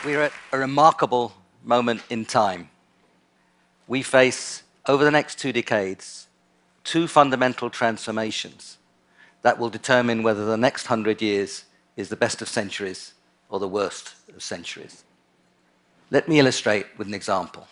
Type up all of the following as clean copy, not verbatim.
We're at a remarkable moment in time. We face, over the next 2 decades, two fundamental transformations that will determine whether the next 100 years is the best of centuries or the worst of centuries. Let me illustrate with an example.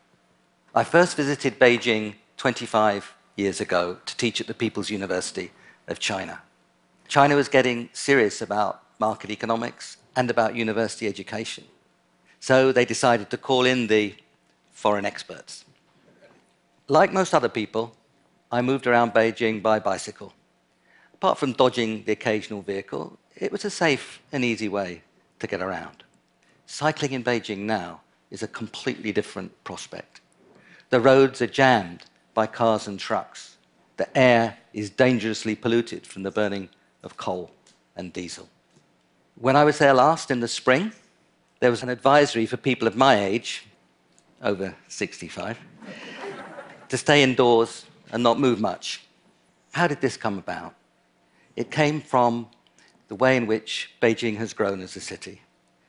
I first visited Beijing 25 years ago to teach at the People's University of China. China was getting serious about market economics and about university education. So they decided to call in the foreign experts. Like most other people, I moved around Beijing by bicycle. Apart from dodging the occasional vehicle, it was a safe and easy way to get around. Cycling in Beijing now is a completely different prospect. The roads are jammed by cars and trucks. The air is dangerously polluted from the burning of coal and diesel. When I was there last in the spring, there was an advisory for people of my age, over 65, to stay indoors and not move much. How did this come about? It came from the way in which Beijing has grown as a city.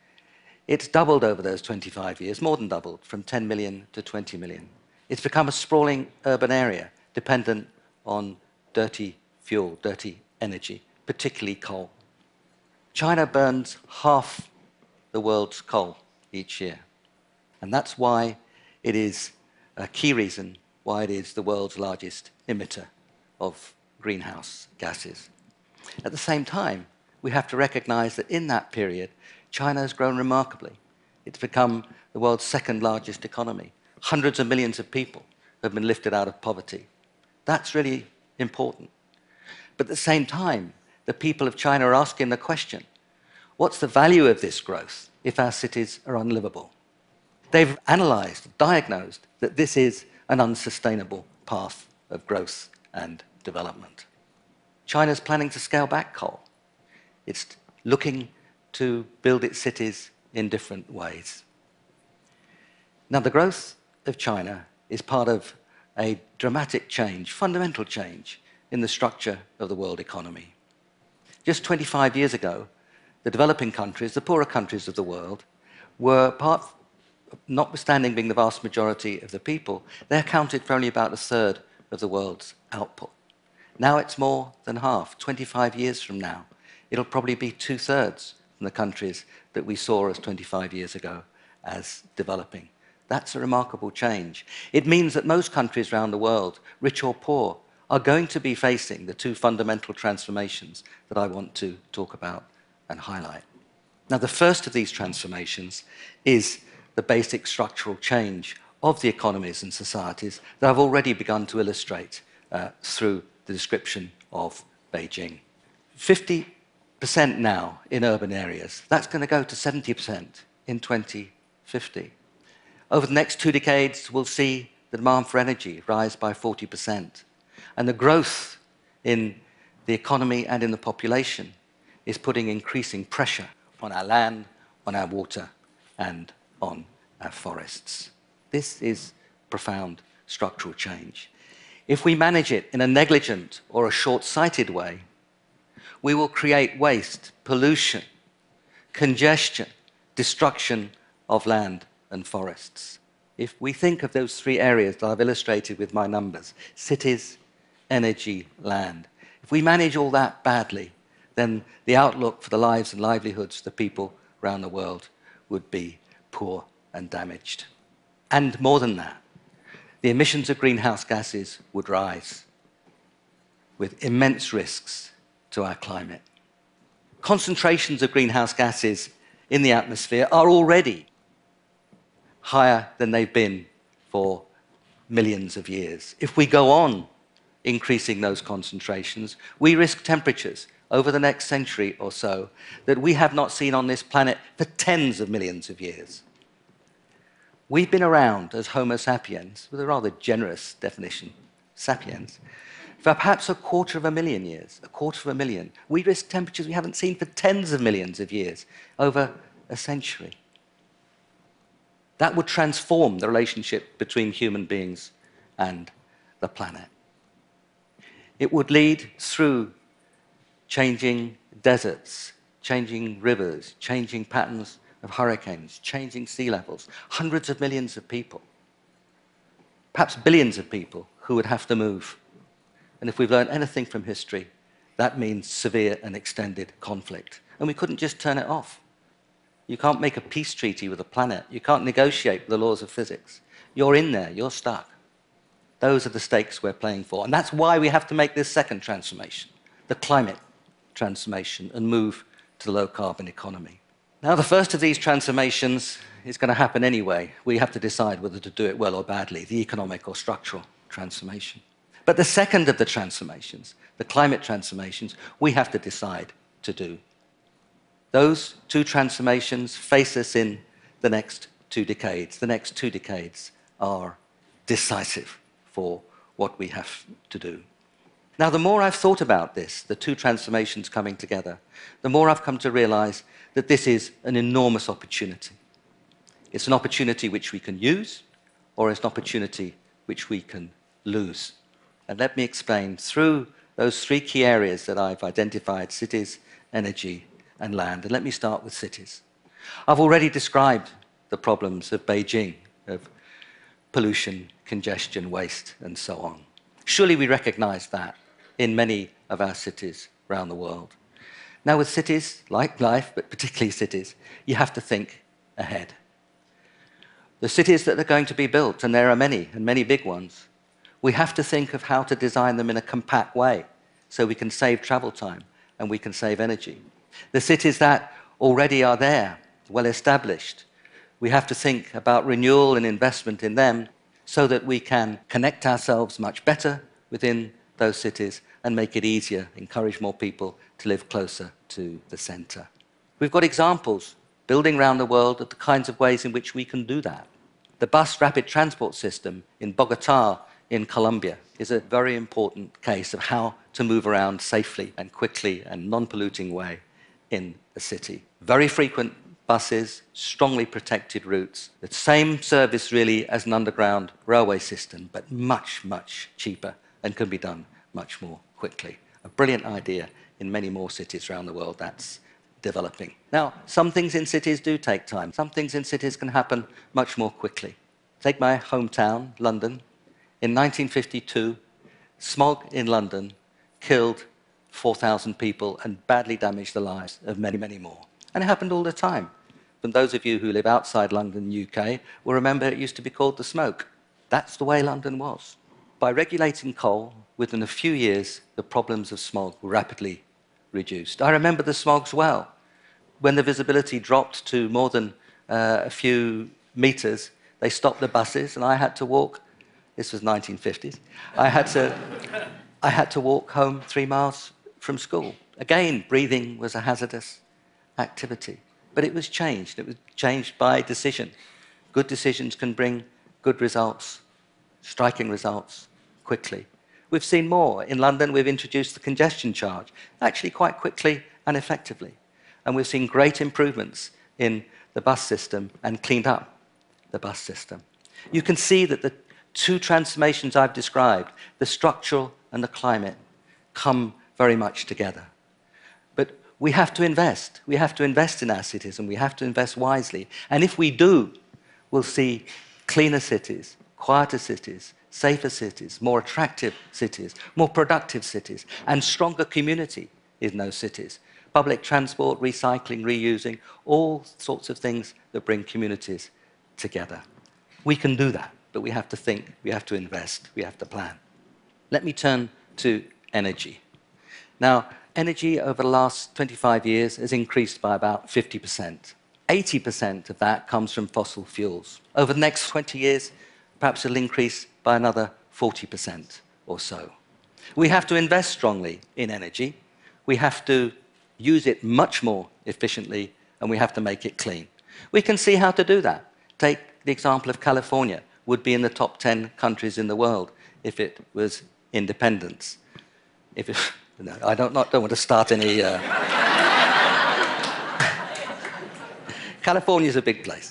It's doubled over those 25 years, more than doubled, from 10 million to 20 million. It's become a sprawling urban area dependent on dirty fuel, dirty energy, particularly coal. China burns half the world's coal each year. And that's why it is a key reason why it is the world's largest emitter of greenhouse gases. At the same time, we have to recognize that in that period, China has grown remarkably. It's become the world's second largest economy. Hundreds of millions of people have been lifted out of poverty. That's really important. But at the same time, the people of China are asking the question, what's the value of this growth if our cities are unlivable? They've analyzed, diagnosed that this is an unsustainable path of growth and development. China's planning to scale back coal. It's looking to build its cities in different ways. Now, the growth of China is part of a dramatic change, fundamental change, in the structure of the world economy. Just 25 years ago, the developing countries, the poorer countries of the world, were notwithstanding being the vast majority of the people, they accounted for only about a third of the world's output. Now it's more than half. 25 years from now, it'll probably be 2/3 from the countries that we saw as 25 years ago as developing. That's a remarkable change. It means that most countries around the world, rich or poor, are going to be facing the two fundamental transformations that I want to talk about and highlight. Now, the first of these transformations is the basic structural change of the economies and societies that I've already begun to illustrate through the description of Beijing. 50% now in urban areas. That's going to go to 70% in 2050. Over the next 2 decades, we'll see the demand for energy rise by 40%. And the growth in the economy and in the population is putting increasing pressure on our land, on our water, and on our forests. This is profound structural change. If we manage it in a negligent or a short-sighted way, we will create waste, pollution, congestion, destruction of land and forests. If we think of those three areas that I've illustrated with my numbers, cities, energy, land, if we manage all that badly, then the outlook for the lives and livelihoods of the people around the world would be poor and damaged. And more than that, the emissions of greenhouse gases would rise with immense risks to our climate. Concentrations of greenhouse gases in the atmosphere are already higher than they've been for millions of years. If we go on increasing those concentrations, we risk temperatures over the next century or so that we have not seen on this planet for tens of millions of years. We've been around as Homo sapiens, with a rather generous definition, sapiens, for perhaps 250,000 years, 250,000. We risk temperatures we haven't seen for tens of millions of years, over a century. That would transform the relationship between human beings and the planet. It would lead through changing deserts, changing rivers, changing patterns of hurricanes, changing sea levels, hundreds of millions of people, perhaps billions of people who would have to move. And if we've learned anything from history, that means severe and extended conflict. And we couldn't just turn it off. You can't make a peace treaty with a planet. You can't negotiate the laws of physics. You're in there, you're stuck. Those are the stakes we're playing for. And that's why we have to make this second transformation, the climate transformation, and move to the low-carbon economy. Now, the first of these transformations is going to happen anyway. We have to decide whether to do it well or badly, the economic or structural transformation. But the second of the transformations, the climate transformations, we have to decide to do. Those two transformations face us in the next 2 decades. The next 2 decades are decisive for what we have to do. Now, the more I've thought about this, the two transformations coming together, the more I've come to realize that this is an enormous opportunity. It's an opportunity which we can use, or it's an opportunity which we can lose. And let me explain through those 3 key areas that I've identified: cities, energy, and land. And let me start with cities. I've already described the problems of Beijing, of pollution, congestion, waste, and so on. Surely we recognize that in many of our cities around the world. Now, with cities, like life, but particularly cities, you have to think ahead. The cities that are going to be built, and there are many, and many big ones, we have to think of how to design them in a compact way so we can save travel time and we can save energy. The cities that already are there, well established, we have to think about renewal and investment in them so that we can connect ourselves much better within those cities and make it easier, encourage more people to live closer to the center. We've got examples building around the world of the kinds of ways in which we can do that. The bus rapid transport system in Bogota in Colombia is a very important case of how to move around safely and quickly and non-polluting way in a city. Very frequent buses, strongly protected routes, the same service really as an underground railway system, but much, much cheaper and can be done much more quickly. A brilliant idea in many more cities around the world that's developing. Now, some things in cities do take time. Some things in cities can happen much more quickly. Take my hometown, London. In 1952, smog in London killed 4,000 people and badly damaged the lives of many, many more. And it happened all the time. And those of you who live outside London, UK, will remember it used to be called the smoke. That's the way London was. By regulating coal, within a few years, the problems of smog were rapidly reduced. I remember the smogs well. When the visibility dropped to more than a few meters, they stopped the buses and I had to walk. This was 1950s. I had to walk home 3 miles from school. Again, breathing was a hazardous activity. But it was changed. It was changed by decision. Good decisions can bring good results, striking results, quickly. We've seen more. In London, we've introduced the congestion charge, actually quite quickly and effectively. And we've seen great improvements in the bus system and cleaned up the bus system. You can see that the two transformations I've described, the structural and the climate, come very much together. But we have to invest. We have to invest in our cities, and we have to invest wisely. And if we do, we'll see cleaner cities, quieter cities, safer cities, more attractive cities, more productive cities, and stronger community in those cities. Public transport, recycling, reusing, all sorts of things that bring communities together. We can do that, but we have to think, we have to invest, we have to plan. Let me turn to energy. Now, energy over the last 25 years has increased by about 50%. 80% of that comes from fossil fuels. Over the next 20 years, perhaps it'll increase by another 40% or so. We have to invest strongly in energy. We have to use it much more efficiently, and we have to make it clean. We can see how to do that. Take the example of California, would be in the top 10 countries in the world if it was independent. No, I don't want to start any... California's a big place.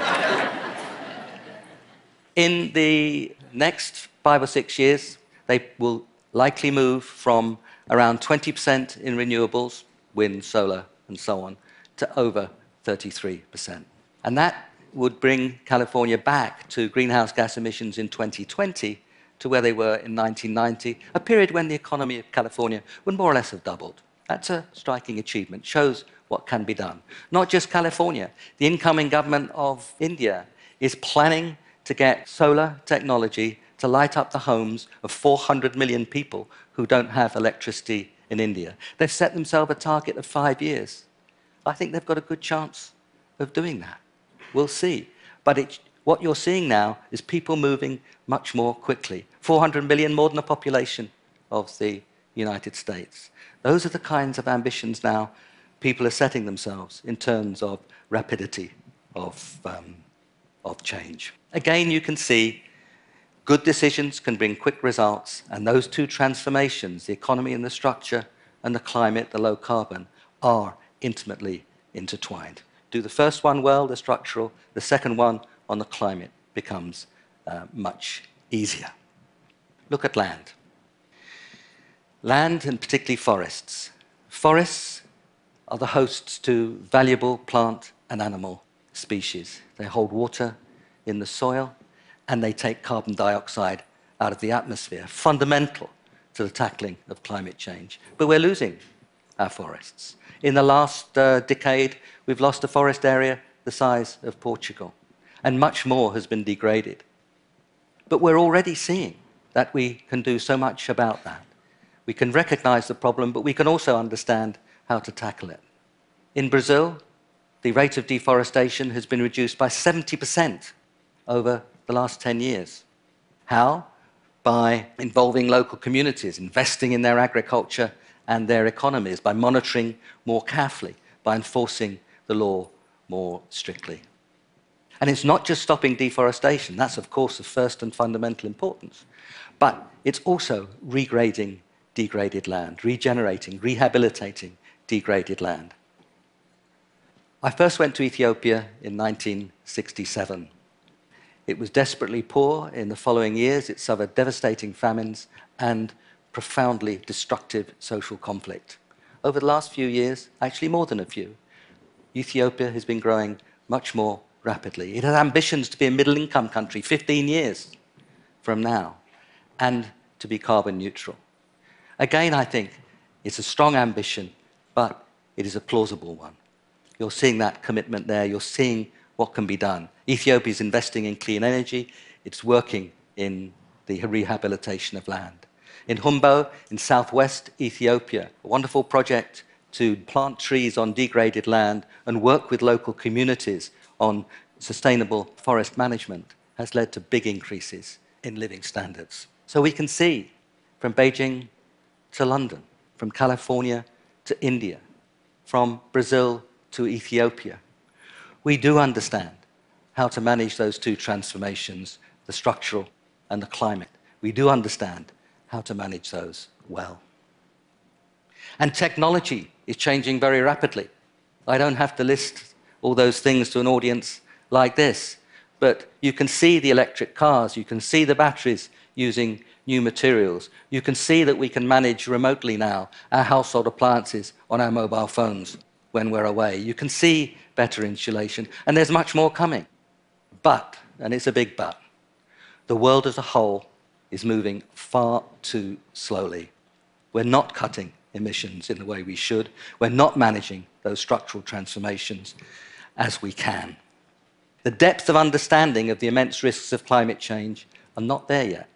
In the next 5 or 6 years, they will likely move from around 20% in renewables, wind, solar, and so on, to over 33%. And that would bring California back to greenhouse gas emissions in 2020 to where they were in 1990, a period when the economy of California would more or less have doubled. That's a striking achievement, shows what can be done. Not just California, the incoming government of India is planning to get solar technology to light up the homes of 400 million people who don't have electricity in India. They've set themselves a target of 5 years. I think they've got a good chance of doing that. We'll see. But what you're seeing now is people moving much more quickly. 400 million, more than the population of the United States. Those are the kinds of ambitions now people are setting themselves in terms of rapidity of change. Again, you can see good decisions can bring quick results, and those two transformations, the economy and the structure, and the climate, the low carbon, are intimately intertwined. Do the first one well, the structural, the second one on the climate becomes much easier. Look at land. Land, and particularly forests. Forests are the hosts to valuable plant and animal species. They hold water in the soil, and they take carbon dioxide out of the atmosphere, fundamental to the tackling of climate change. But we're losing our forests. In the last decade, we've lost a forest area the size of Portugal, and much more has been degraded. But we're already seeing that we can do so much about that. We can recognize the problem, but we can also understand how to tackle it. In Brazil, the rate of deforestation has been reduced by 70% over the last 10 years. How? By involving local communities, investing in their agriculture and their economies, by monitoring more carefully, by enforcing the law more strictly. And it's not just stopping deforestation, that's of course of first and fundamental importance, but it's also regrading degraded land, regenerating, rehabilitating degraded land. I first went to Ethiopia in 1967. It was desperately poor. In the following years, it suffered devastating famines and profoundly destructive social conflict. Over the last few years, actually more than a few, Ethiopia has been growing much more rapidly. It has ambitions to be a middle-income country 15 years from now, and to be carbon neutral. Again, I think it's a strong ambition, but it is a plausible one. You're seeing that commitment there. You're seeing what can be done. Ethiopia is investing in clean energy. It's working in the rehabilitation of land. In Humbo, in southwest Ethiopia, a wonderful project to plant trees on degraded land and work with local communities on sustainable forest management has led to big increases in living standards. So we can see from Beijing to London, from California to India, from Brazil to Ethiopia, we do understand how to manage those two transformations, the structural and the climate. We do understand how to manage those well. And technology is changing very rapidly. I don't have to list all those things to an audience like this, but you can see the electric cars, you can see the batteries using new materials. You can see that we can manage remotely now our household appliances on our mobile phones when we're away. You can see better insulation, and there's much more coming. But, and it's a big but, the world as a whole is moving far too slowly. We're not cutting emissions in the way we should. We're not managing those structural transformations as we can. The depth of understanding of the immense risks of climate change are not there yet.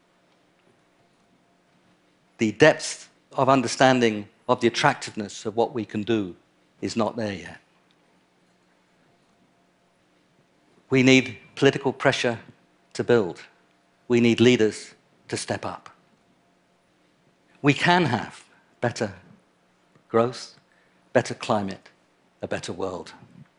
The depth of understanding of the attractiveness of what we can do is not there yet. We need political pressure to build. We need leaders to step up. We can have better growth, better climate, a better world.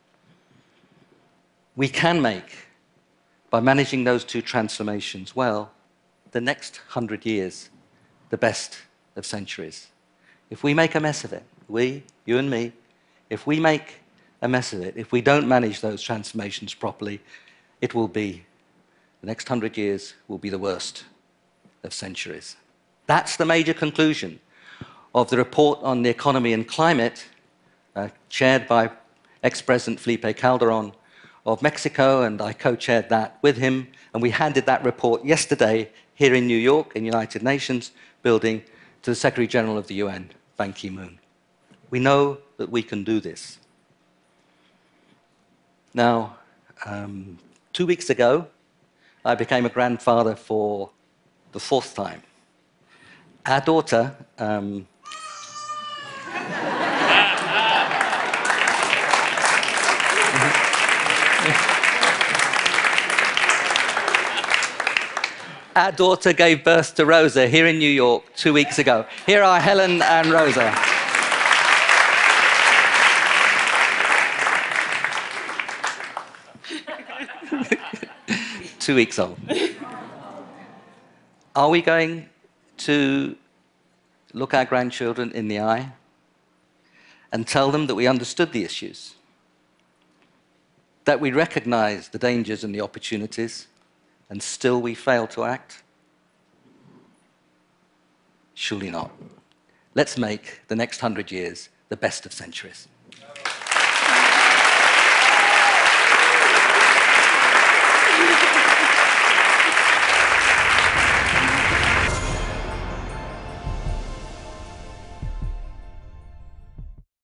We can make, by managing those two transformations well, the next 100 years the best of centuries. If we make a mess of it, we, you and me, if we make a mess of it, if we don't manage those transformations properly, it will be, the next 100 years will be the worst of centuries. That's the major conclusion of the report on the economy and climate chaired by ex-President Felipe Calderon of Mexico, and I co-chaired that with him, and we handed that report yesterday here in New York, in United Nations building, to the Secretary General of the UN, Ban Ki-moon. We know that we can do this. Now, 2 weeks ago, I became a grandfather for the 4th time. Our daughter, our daughter gave birth to Rosa here in New York 2 weeks ago. Here are Helen and Rosa. Two weeks old. Are we going to look our grandchildren in the eye and tell them that we understood the issues, that we recognize the dangers and the opportunities, and still we fail to act? Surely not. Let's make the next 100 years the best of centuries.